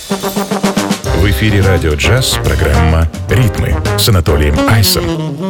В эфире «Радио Джаз» программа «Ритмы» с Анатолием Айсом.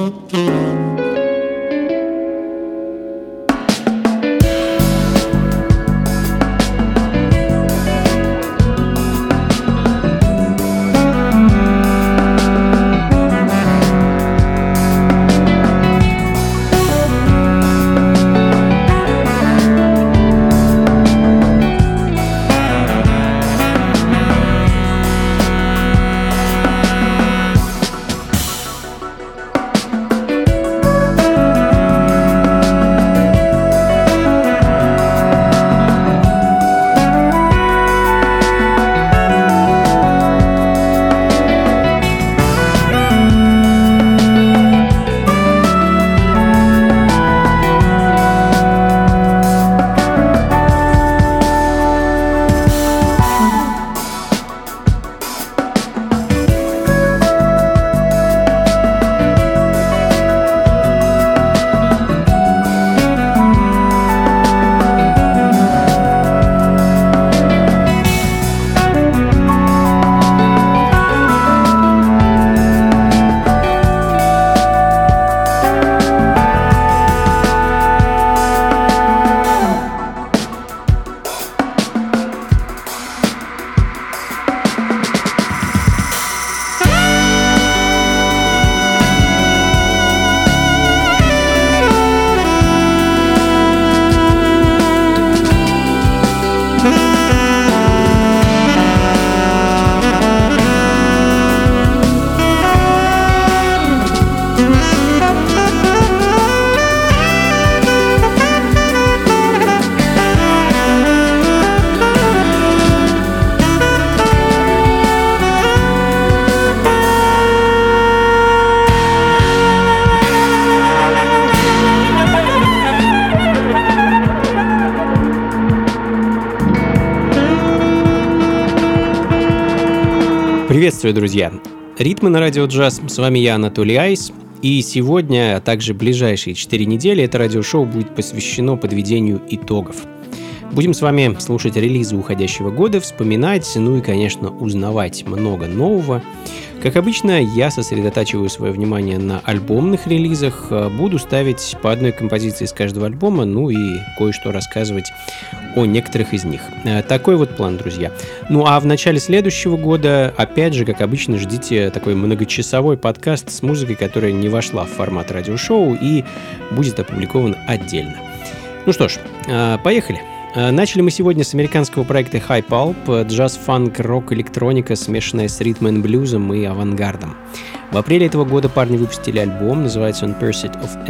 Приветствую, друзья! Ритмы на радио джаз. С вами я, Анатолий Айс. И сегодня, а также ближайшие 4 недели, это радиошоу будет посвящено подведению итогов. Будем с вами слушать релизы уходящего года, вспоминать, ну и, конечно, узнавать много нового. Как обычно, я сосредотачиваю свое внимание на альбомных релизах, буду ставить по одной композиции с каждого альбома, ну и кое-что рассказывать о некоторых из них. Такой вот план, друзья. Ну а в начале следующего года, опять же, как обычно, ждите такой многочасовой подкаст с музыкой, которая не вошла в формат радиошоу и будет опубликован отдельно. Ну что ж, поехали. Начали мы сегодня с американского проекта High Pulp, джаз, фанк, рок, электроника, смешанная с ритм-н-блюзом и авангардом. В апреле этого года парни выпустили альбом, называется он Pursuit of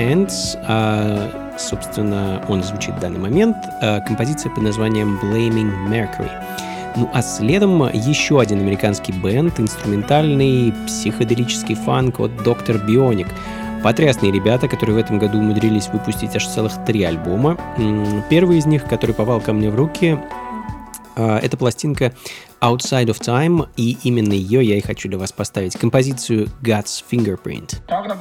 Ants, собственно, он звучит в данный момент, композиция под названием Blaming Mercury. Ну а следом еще один американский бэнд, инструментальный психоделический фанк от Dr. Bionic. Потрясные ребята, которые в этом году умудрились выпустить аж целых 3 альбома. Первый из них, который попал ко мне в руки, это пластинка Outside of Time, и именно ее я и хочу для вас поставить. Композицию God's Fingerprint.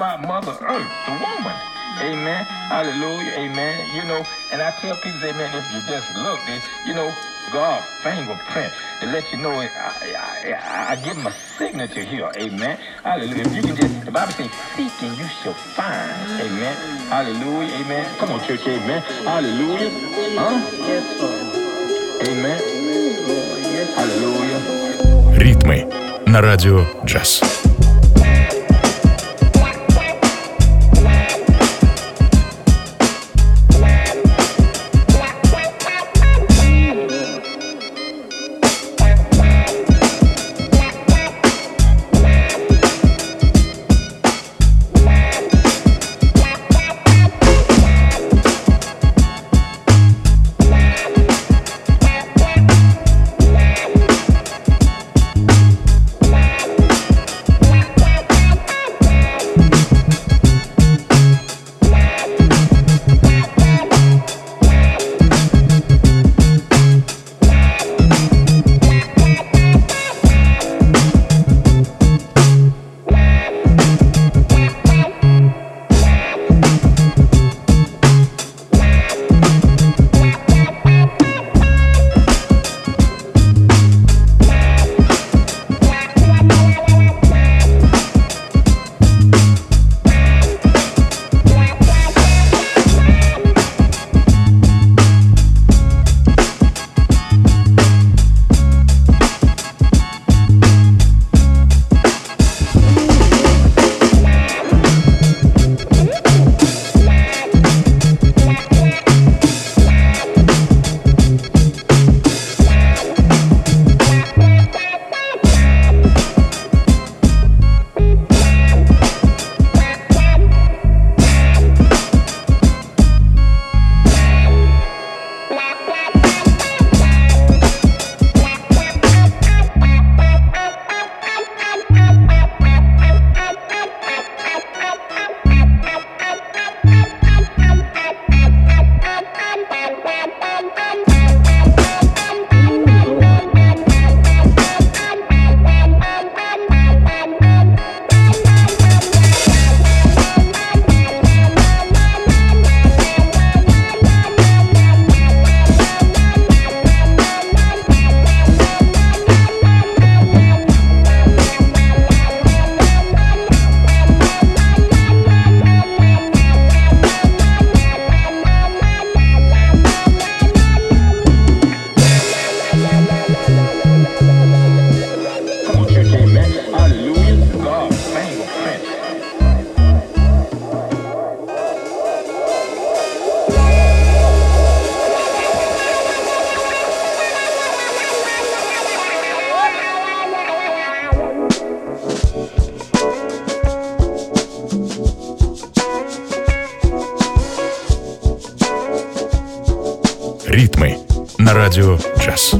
Amen. Hallelujah. Amen. You know, and I tell people, amen, if you just look, you know, God's fingerprint to let you know I give him a signature here. Amen. Hallelujah. If you can just, the Bible says, seek and you shall find. Amen. Hallelujah. Amen. Come on, church. Amen. Hallelujah. Huh? Yes, Lord. Amen. Yes. Hallelujah. Ритмы на радио джаз. на радио «Джаз».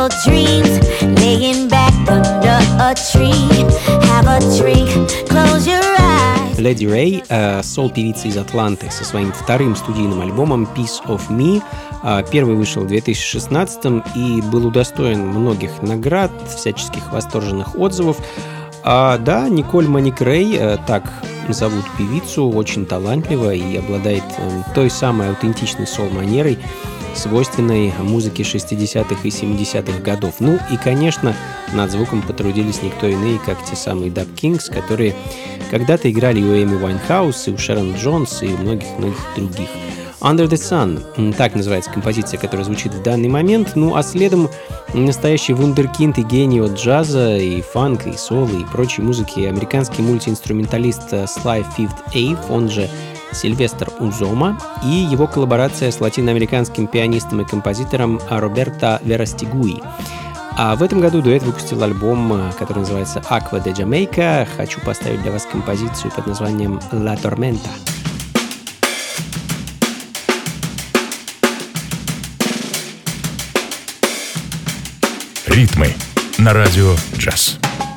simple dreams, laying back under a tree, have a drink, close your eyes. Lady Ray, сол-певица из Атланты, со своим вторым студийным альбомом Piece of Me. Первый вышел в 2016 и был удостоен многих наград, всяческих восторженных отзывов. Да, Николь Моник Рэй, так зовут певицу, очень талантлива и обладает той самой аутентичной сол-манерой, свойственной музыке 60-х и 70-х годов. Ну и, конечно, над звуком потрудились никто иные, как те самые Dub Kings, которые когда-то играли и у Эми Уайнхаус, и у Шерон Джонс, и у многих-многих других. Under the Sun, так называется композиция, которая звучит в данный момент. Ну а следом настоящий вундеркинд и гений от джаза, и фанка, и соло, и прочей музыки, американский мультиинструменталист Sly Fifth Ave, он же Сильвестр Узома, и его коллаборация с латиноамериканским пианистом и композитором Роберто Верастигуи. А в этом году дуэт выпустил альбом, который называется Aqua de Jamaica. Хочу поставить для вас композицию под названием La Tormenta. Ритмы на радио «Джаз».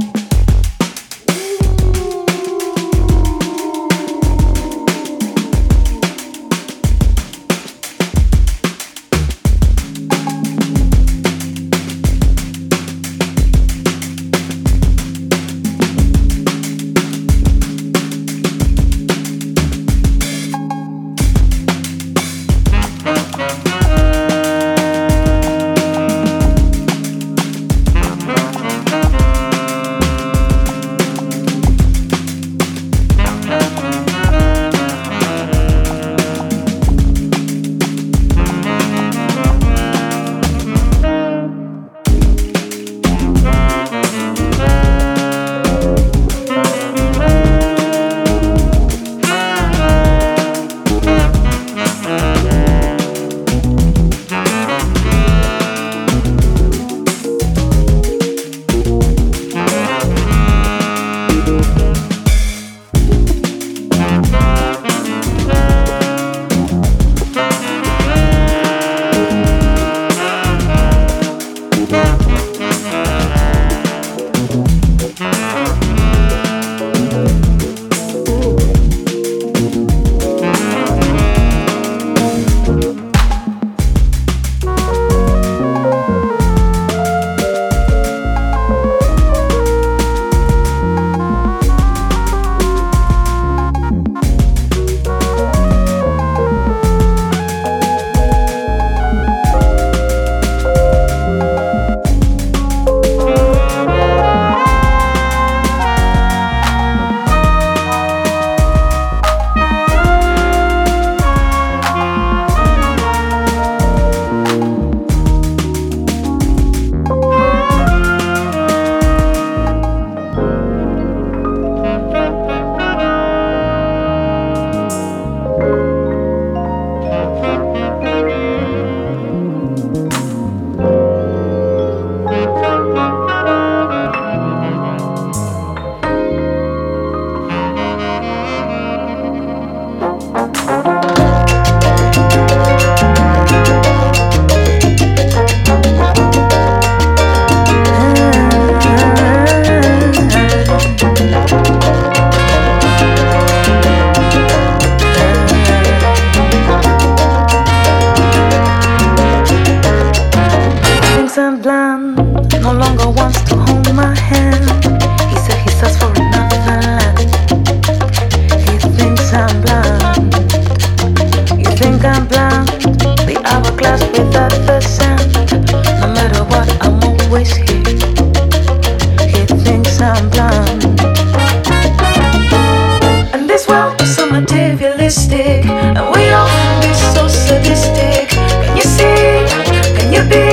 Materialistic, and we all can be so sadistic. Can you see? Can you be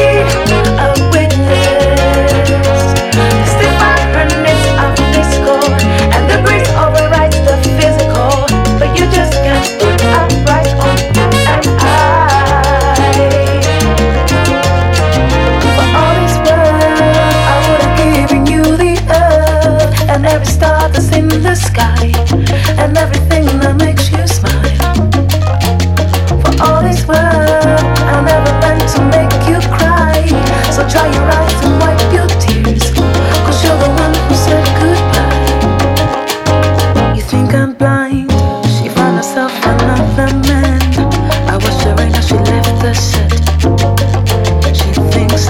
a witness? It's the vibrance of discord, and the grace overrides the physical. But you just can't put upright on you and I. For all this world, I would have given you the earth and every star that's in the sky, and everything that makes you smile. For all this world, I never meant to make you cry. So dry your eyes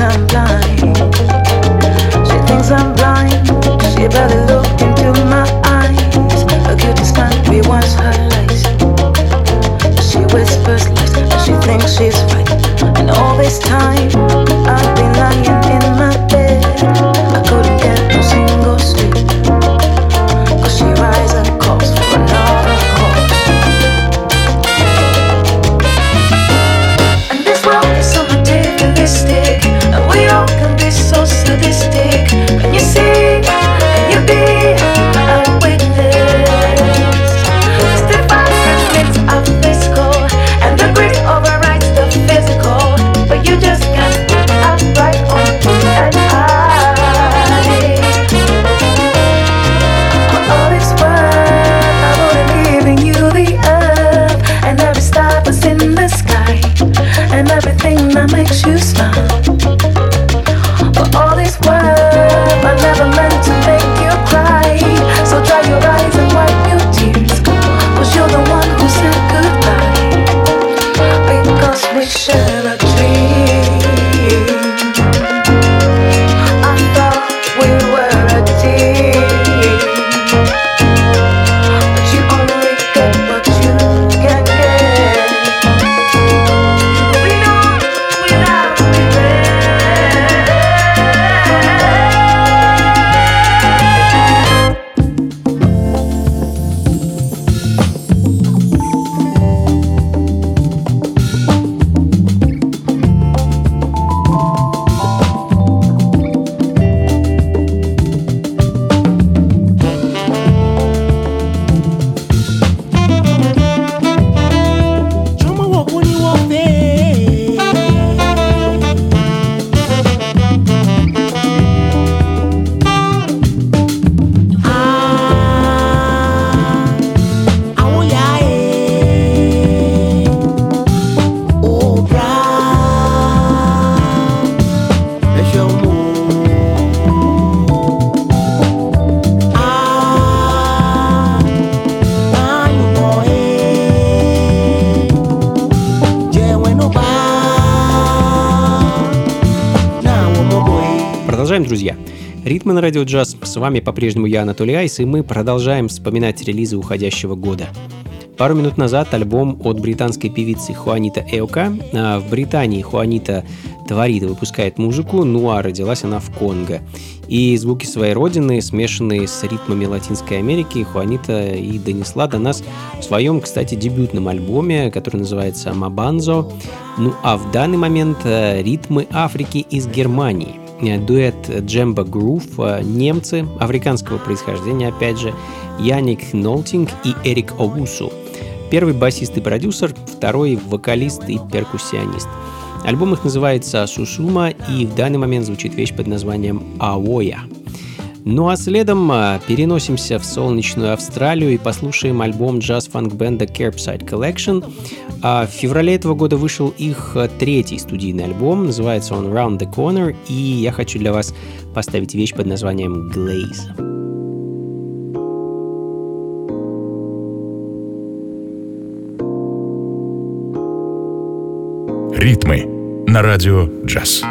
I'm blind. She thinks I'm blind. She barely looked into my eyes. Her cutie smile rewards her lies. She whispers lies and she thinks she's right. And all this time I've been lying in my bed. I couldn't get no single sleep. Cause she rises and calls for another course. And this world is so materialistic, and we all can be so sadistic. Can you see? Can you be a witness? 65 minutes of physical, and the grit overrides the physical. But you just can't put up right on and hide. For all it's worth, I wouldn't giving you the earth, and every star that's in the sky, and everything that makes you smile. For all this worth, I never meant to make you cry. So dry your eyes and wipe your tears, cause you're the one who said goodbye. Because we share a dream. I thought we were a team, but you only get what you can get. We know without regret. Продолжаем, друзья. Ритмы на радио джаз. С вами по-прежнему я, Анатолий Айс, и мы продолжаем вспоминать релизы уходящего года. Пару минут назад альбом от британской певицы Хуанита Эока. В Британии Хуанита творит и выпускает музыку, ну а родилась она в Конго. И звуки своей родины, смешанные с ритмами Латинской Америки, Хуанита и донесла до нас в своем, кстати, дебютном альбоме, который называется «Мабанзо». Ну а в данный момент ритмы Африки из Германии. Дуэт Джемба Грув, немцы африканского происхождения, опять же, Яник Нолтинг и Эрик Оусу. Первый басист и продюсер, второй вокалист и перкуссионист. Альбом их называется «Сусума», и в данный момент звучит вещь под названием «Аоя». Ну а следом переносимся в солнечную Австралию и послушаем альбом джаз-фанк-бенда Curbside Collection. В феврале этого года вышел их третий студийный альбом, называется он Round the Corner, и я хочу для вас поставить вещь под названием Glaze. Ритмы на радио джаз.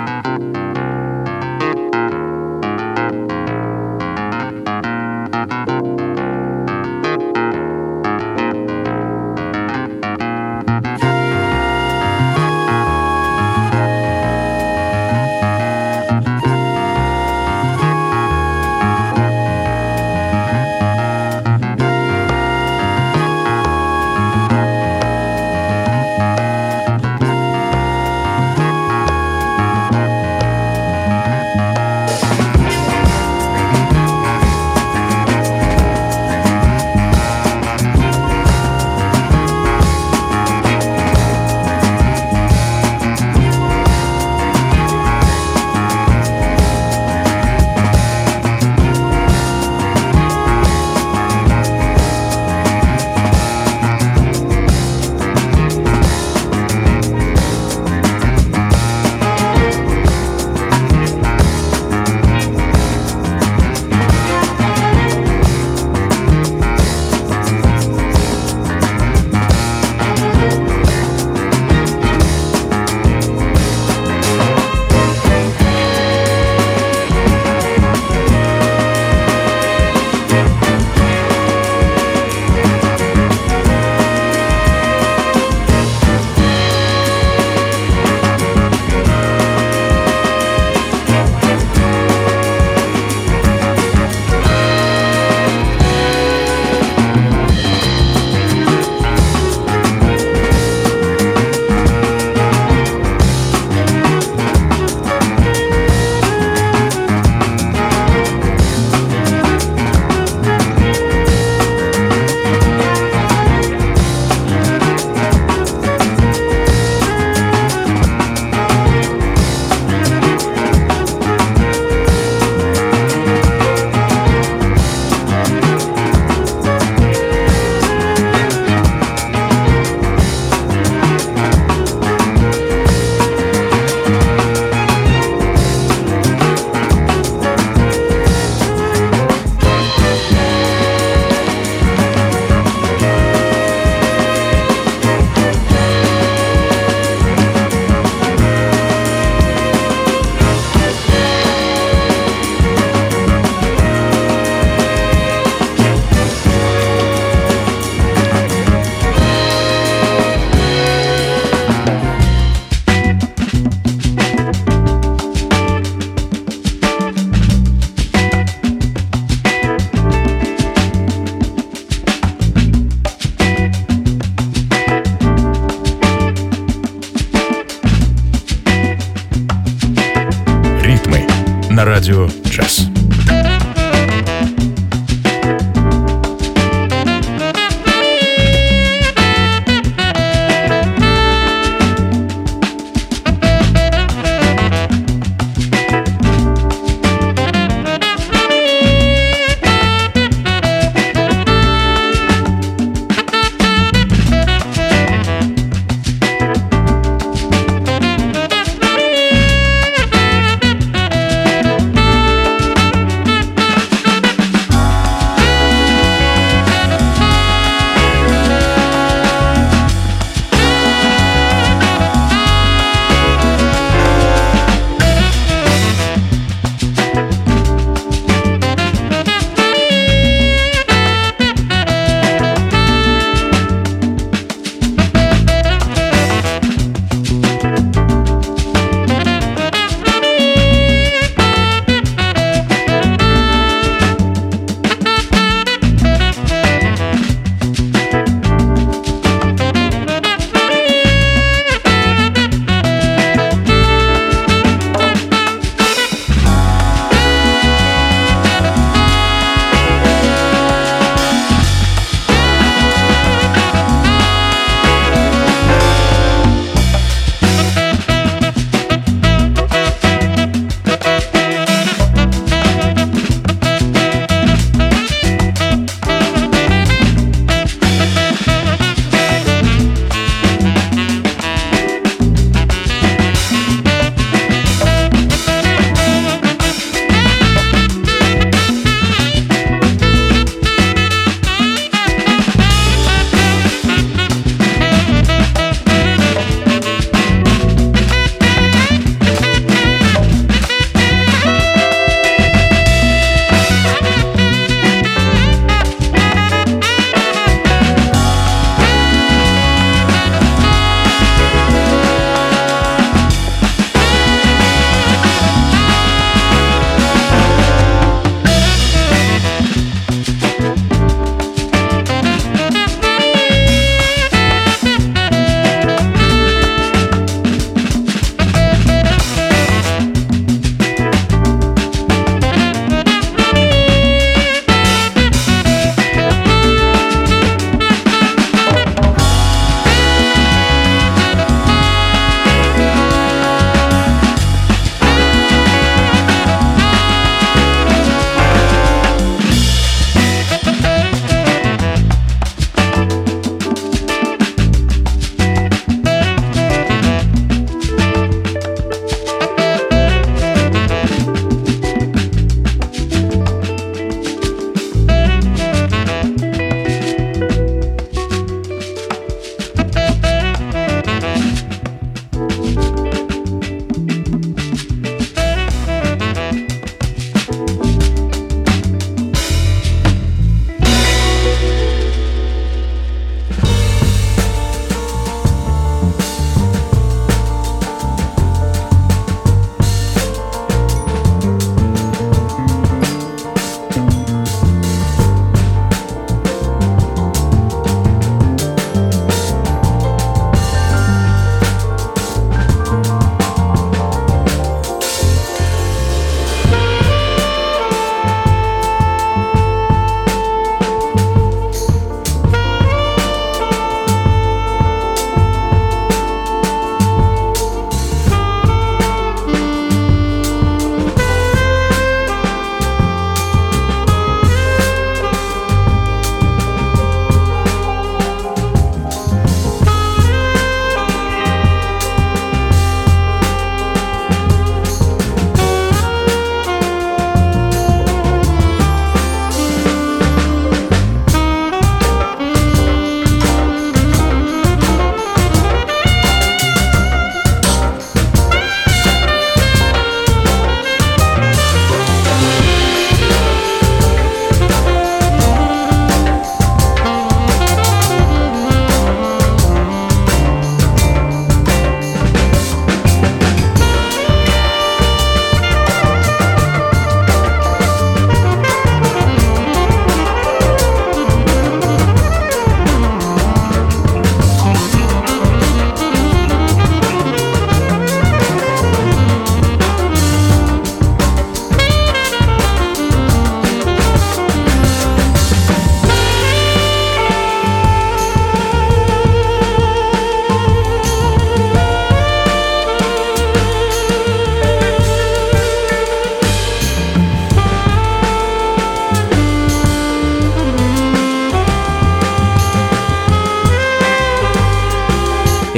на радио «Джаз».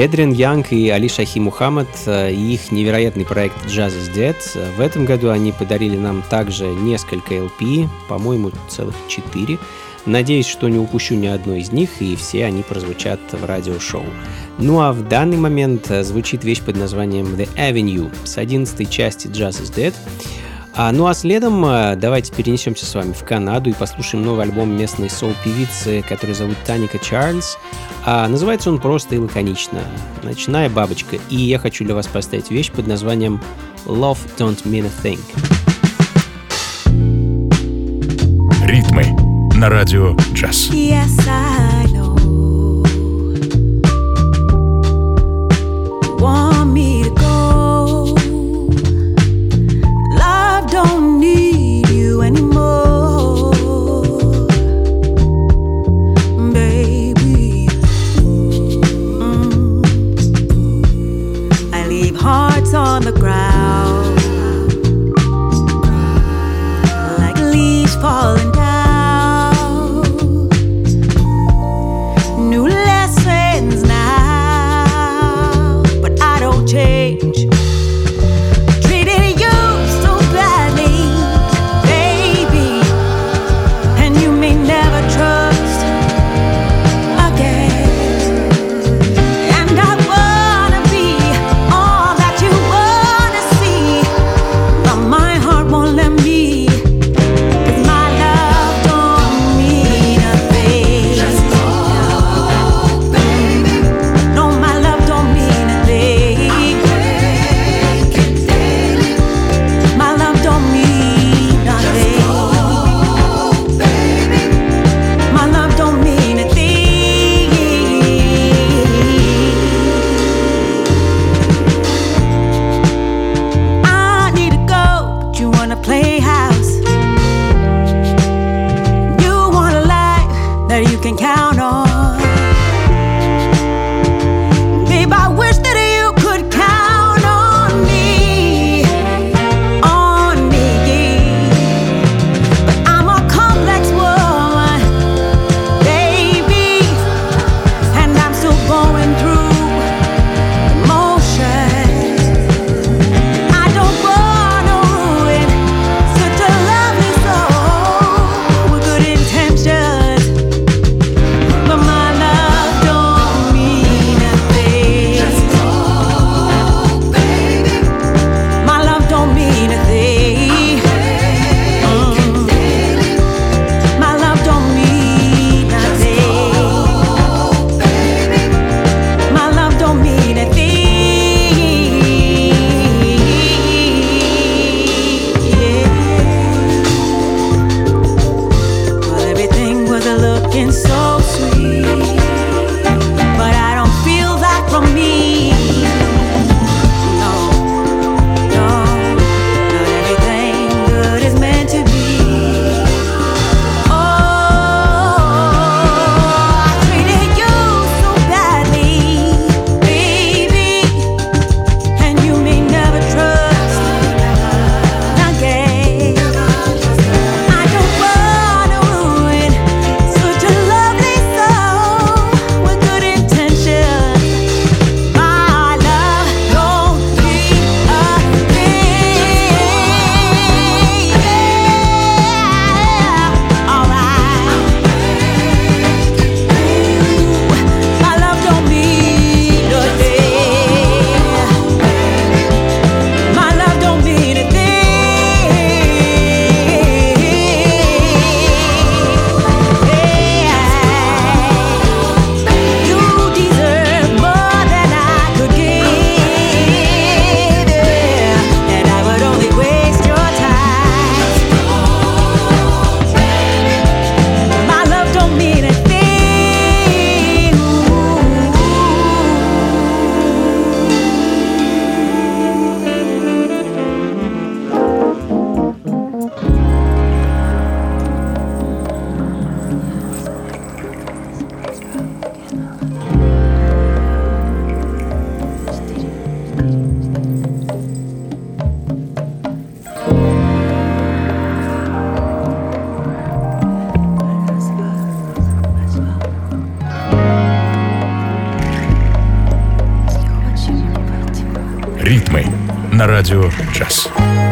Эдриан Янг и Али Шахи Мухаммад и их невероятный проект Jazz is Dead. В этом году они подарили нам также несколько LP, по-моему, целых 4. Надеюсь, что не упущу ни одной из них, и все они прозвучат в радиошоу. Ну а в данный момент звучит вещь под названием The Avenue с 11-й части Jazz is Dead. Ну а следом давайте перенесемся с вами в Канаду и послушаем новый альбом местной соул-певицы, которую зовут Таника Чарльз. Называется он просто и лаконично «Ночная бабочка». И я хочу для вас поставить вещь под названием Love Don't Mean a Thing. Ритмы на радио «Джаз». Yes, I know. Want me to go? Love don't need you anymore, baby. I leave hearts on the ground, like leaves falling down. на радио «Джаз».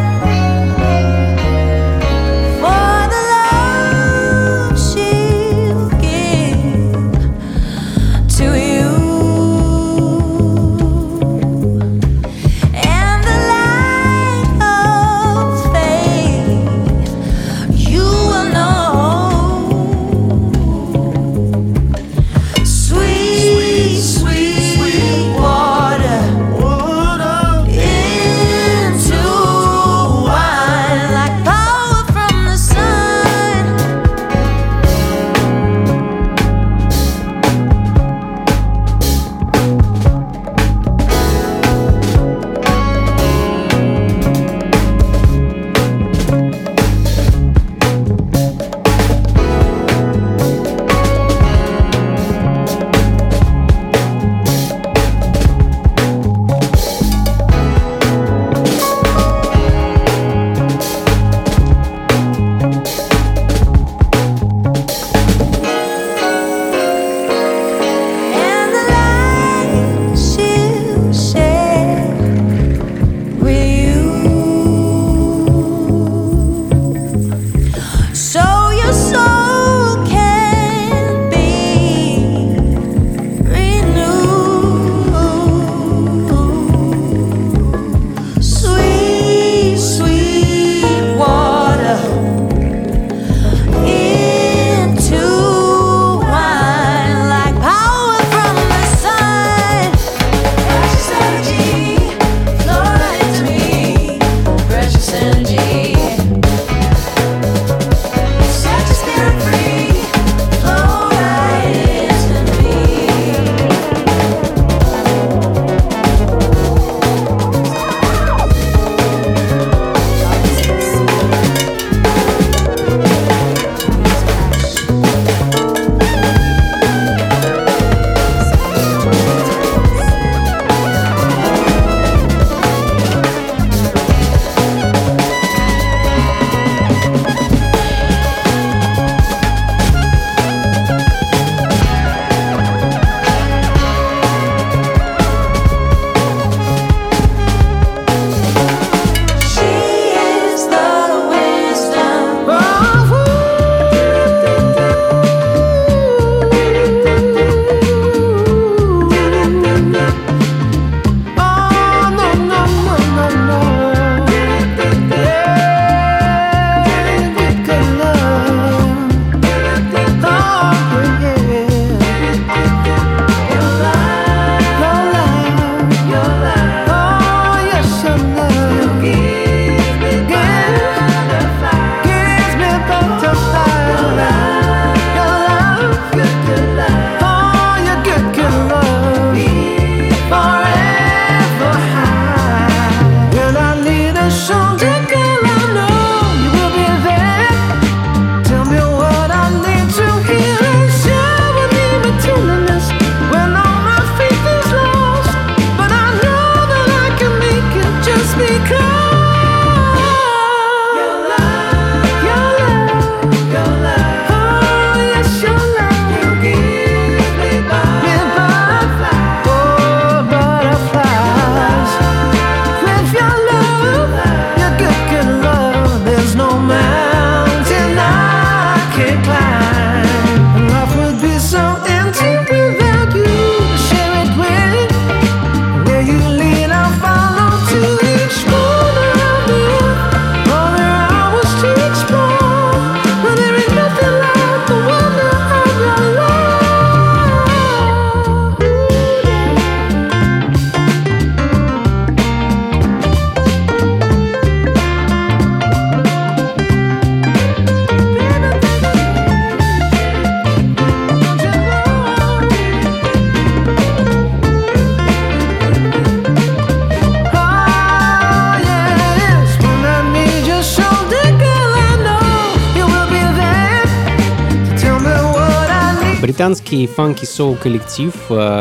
Британский фанки-соул коллектив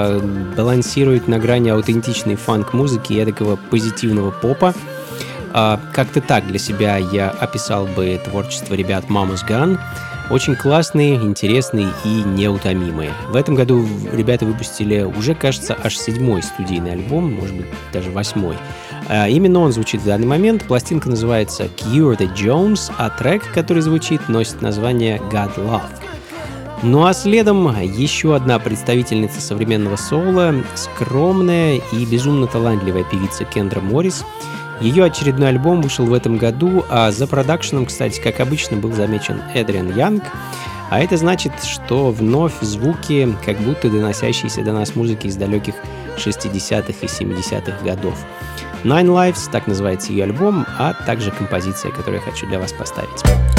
балансирует на грани аутентичной фанк-музыки и такого позитивного попа. Как-то так для себя я описал бы творчество ребят Mama's Gun. Очень классные, интересные и неутомимые. В этом году ребята выпустили уже, кажется, аж 7-й студийный альбом, может быть, даже 8-й. Именно он звучит в данный момент. Пластинка называется Cure the Jones, а трек, который звучит, носит название God Love. Ну а следом еще одна представительница современного соула, скромная и безумно талантливая певица Кендра Моррис. Ее очередной альбом вышел в этом году, а за продакшеном, кстати, как обычно, был замечен Эдриан Янг. А это значит, что вновь звуки, как будто доносящиеся до нас музыки из далеких 60-х и 70-х годов. Nine Lives, так называется ее альбом, а также композиция, которую я хочу для вас поставить.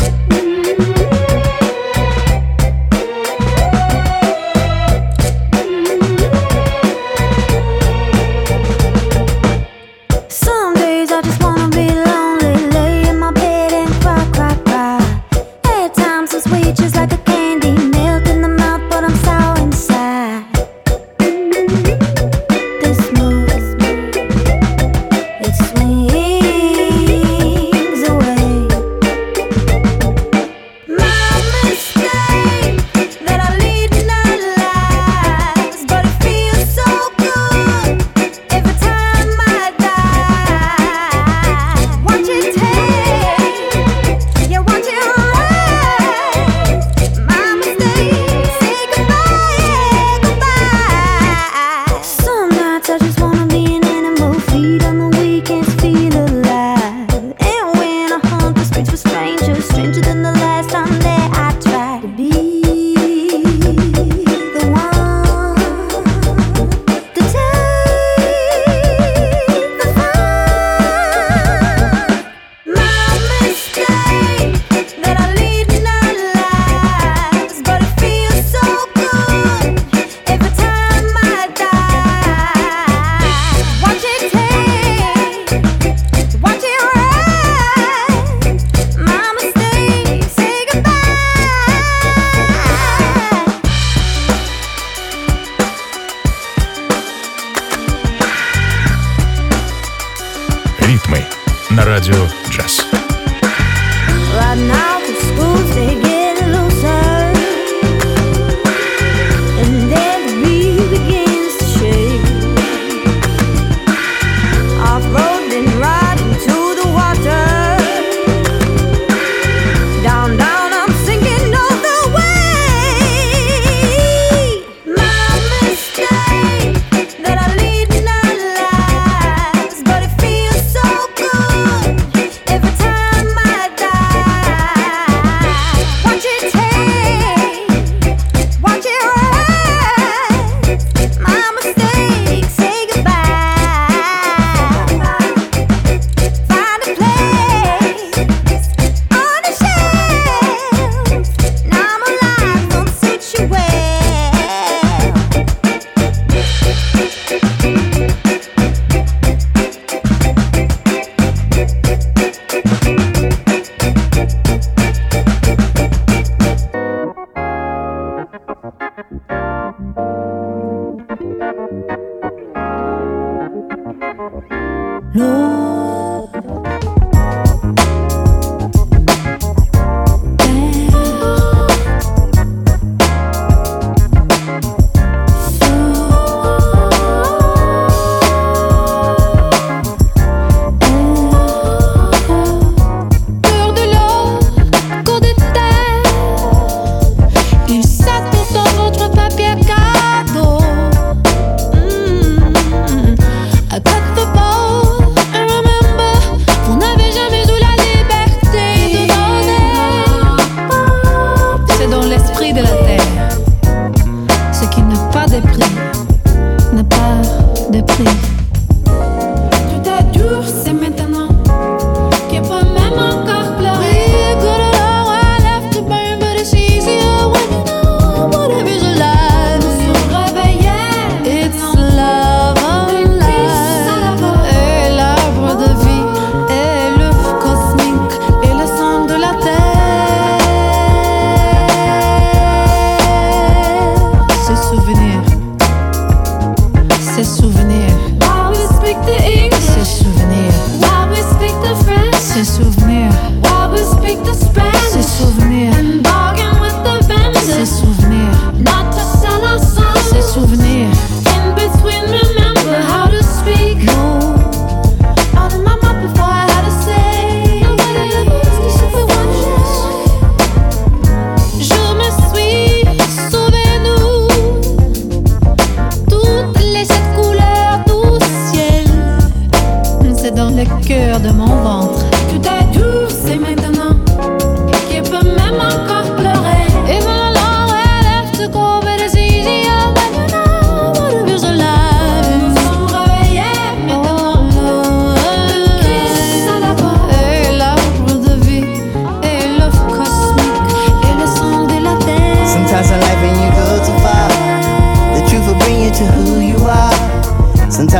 на радио «Джаз».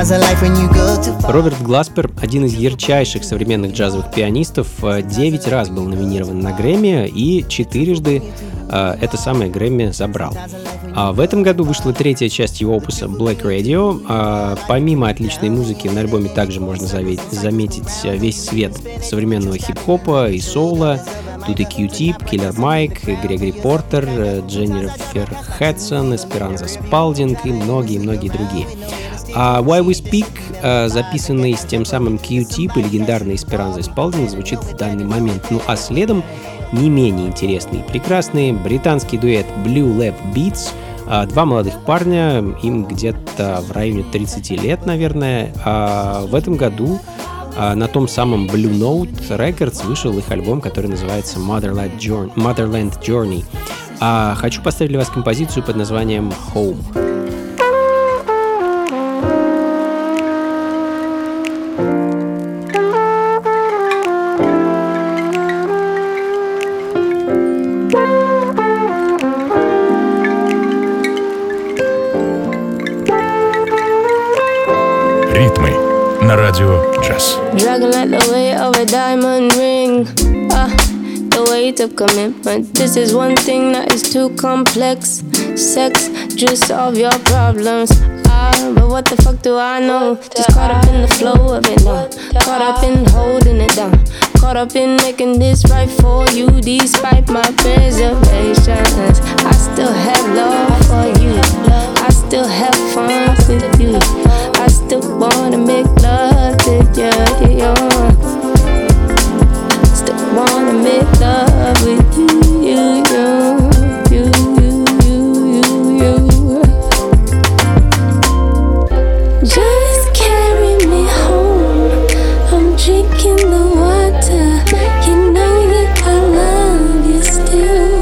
Роберт Гласпер, один из ярчайших современных джазовых пианистов, 9 раз был номинирован на Грэмми и 4 это самое Грэмми забрал. А в этом году вышла 3-я часть его опуса Black Radio. Помимо отличной музыки на альбоме также можно заметить весь свет современного хип-хопа и соула. Тут и Q-Tip, Killer Mike, Грегори Портер, Дженнифер Хадсон, Эсперанза Спалдинг и многие-многие другие. А Why We Speak, записанный с тем самым Q-Tip и легендарной Эсперанзой Спалдинг, звучит в данный момент. Ну а следом не менее интересный и прекрасный британский дуэт Blue Lab Beats. 2 молодых парня, им где-то в районе 30 лет, наверное. А в этом году на том самом Blue Note Records вышел их альбом, который называется Motherland Journey. Хочу поставить для вас композицию под названием Home. Ритмы на радио Джаз. Dragging like the weight of a diamond ring. The weight of commitment. This is one thing that is too complex. Sex, just solve your problems. But what the fuck do I know? Just caught up in the flow of it now. Caught up in holding it down. Caught up in making this right for you. Despite my reservations, I still have love for you. I still have fun with you. I still wanna make love to you. Still wanna make love with you. Just carry me home. I'm drinking the water. You know that I love you still.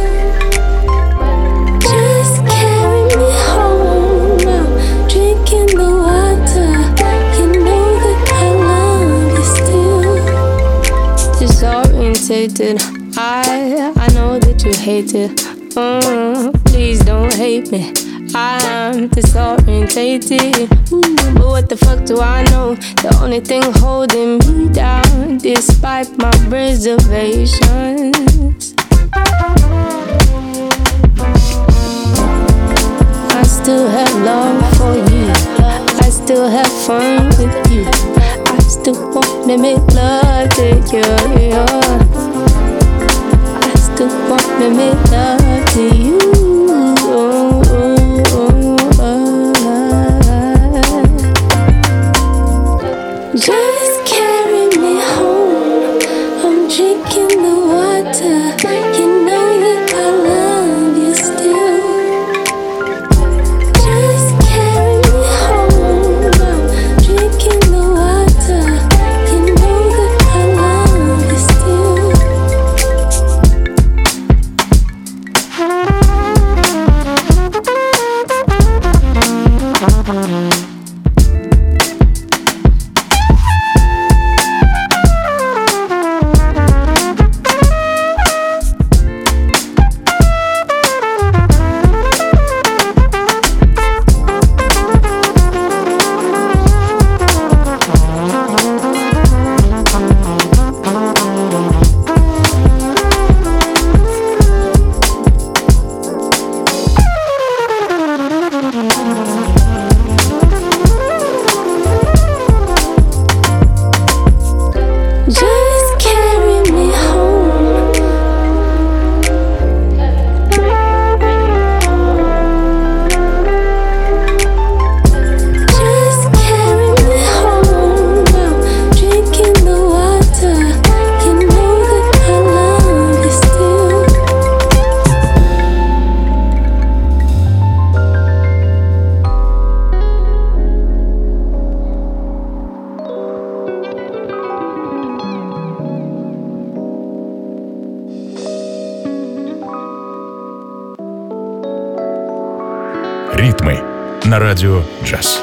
Just carry me home. I'm drinking the water. You know that I love you still. Disorientated. I know that you hate it. Please don't hate me. I'm disorientated. But what the fuck do I know? The only thing holding me down, despite my reservations, I still have love for you. I still have fun with you. I still wanna make love to you. I still wanna make love to you. Just carry me home. I'm drinking the water. You know that I love you still. Just carry me home. I'm drinking the water. You know that I love you still. Ритмы на радио Джаз.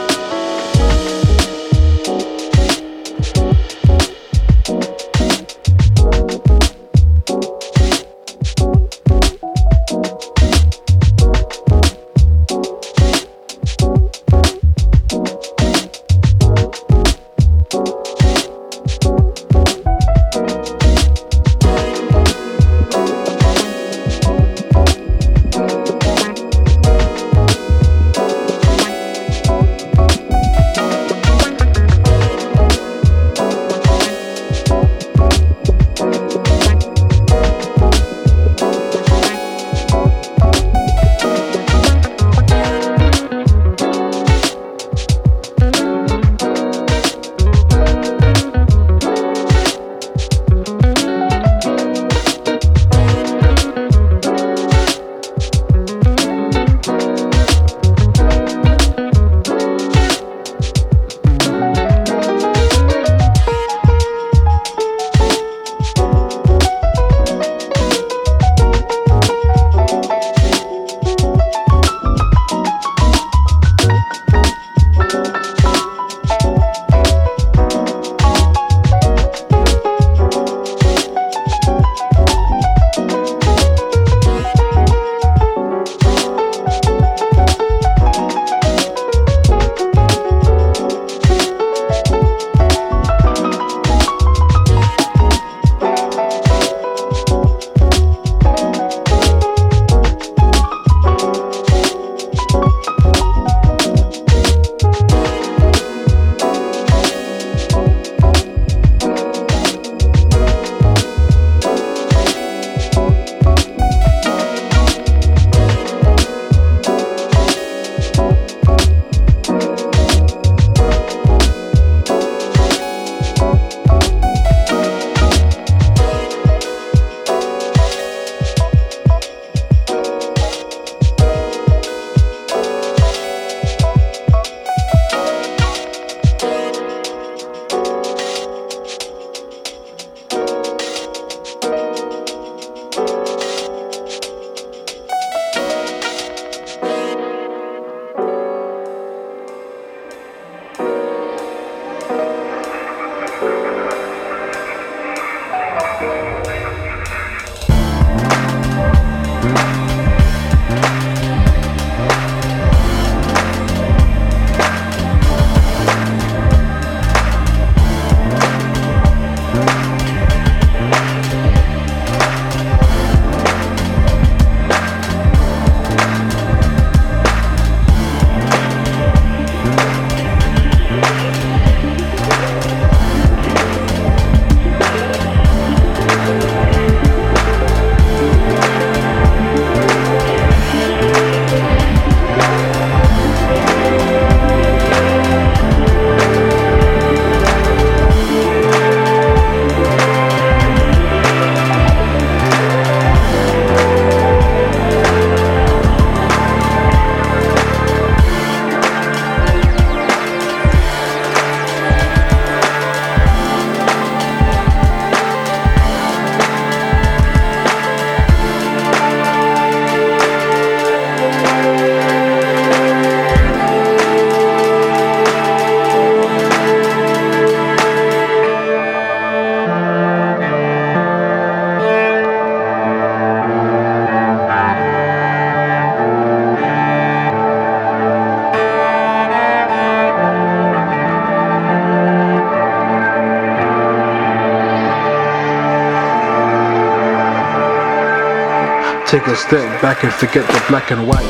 Take a step back and forget the black and white.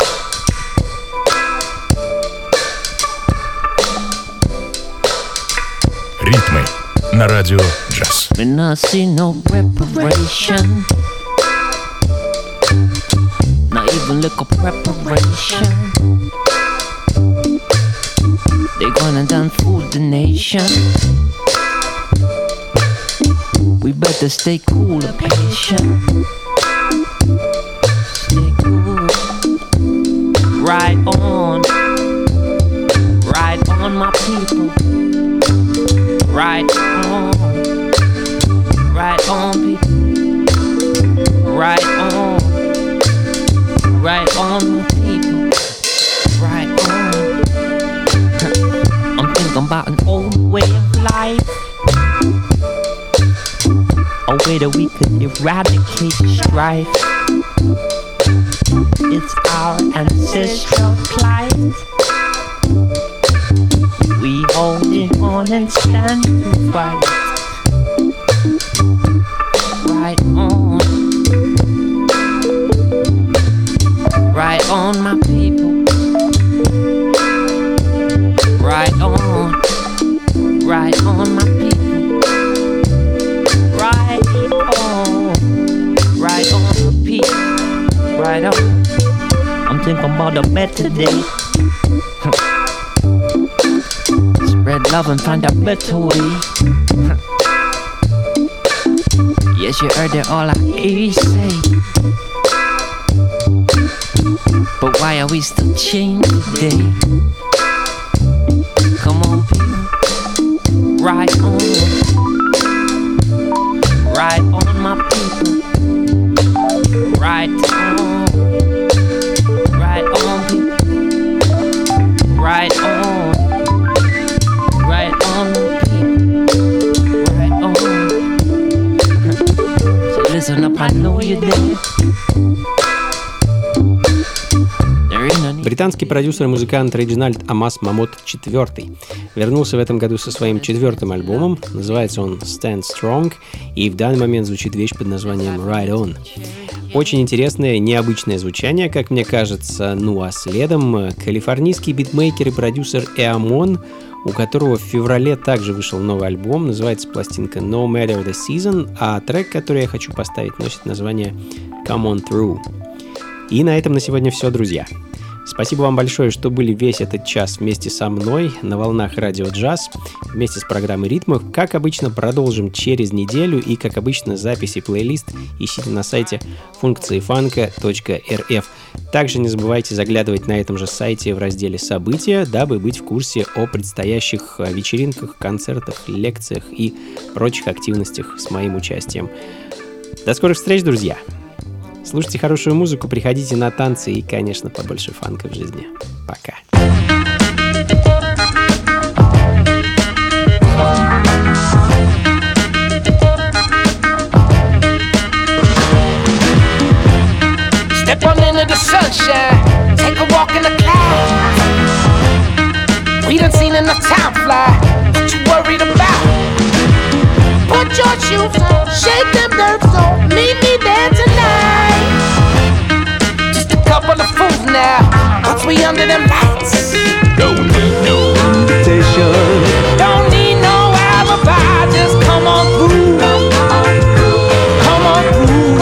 Ритмы на радио Джаз. When I see no preparation, not even little preparation, they gonna done fool the nation. We better stay cool and patient. Stay cool. Right on my people. Right on people. Right on my people. Right on. I'm thinking about an old way of life, a way that we could eradicate strife. It's our ancestral plight. We holding on and stand to fight. Right on my people. Right on my people. Right on the people. Right on. I'm thinking about a better day. Spread love and find a better way. Yes, you heard it all I hear you say. But why are we still chained today? Come on, people. Right on my people. Right on people. Right on people. Right on. So listen up, I know you're there. Британский продюсер и музыкант Реджинальд Амос Мамот IV вернулся в этом году со своим 4-м альбомом. Называется он Stand Strong, и в данный момент звучит вещь под названием Right On. Очень интересное, необычное звучание, как мне кажется. Ну а следом калифорнийский битмейкер и продюсер Эамон, у которого в феврале также вышел новый альбом. Называется пластинка No Matter the Season, а трек, который я хочу поставить, носит название Come On Through. И на этом на сегодня все, друзья. Спасибо вам большое, что были весь этот час вместе со мной на волнах Радио Джаз, вместе с программой «Ритмы». Как обычно, продолжим через неделю, и, как обычно, записи и плейлист ищите на сайте функциифанка.рф. Также не забывайте заглядывать на этом же сайте в разделе «События», дабы быть в курсе о предстоящих вечеринках, концертах, лекциях и прочих активностях с моим участием. До скорых встреч, друзья! Слушайте хорошую музыку, приходите на танцы и, конечно, побольше фанка в жизни. Пока. Step on into the sunshine, take a walk in the clouds. We done seen enough time fly, what you worried about? Put your shoes on, shake them nerves on, meet me there tonight. Just a couple of fools now, once we under them lights. Don't need no invitation, don't need no alibi, just come on through. Come on through.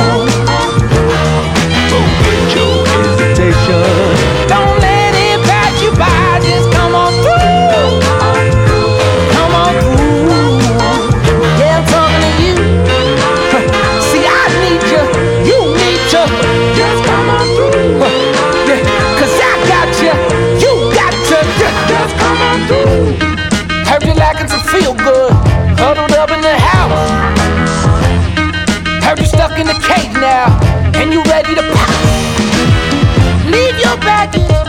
Don't get your hesitation. Don't let it pass you by, just come on through. Come on through. Yeah, I'm talking to you. See, I need you, you need you. Just come on through. Yeah, 'cause I got you, you got you. Just come on through. Heard you lacking some feel good, huddled up in the house. Heard you stuck in the cage now, and you ready to pop. Leave your baggage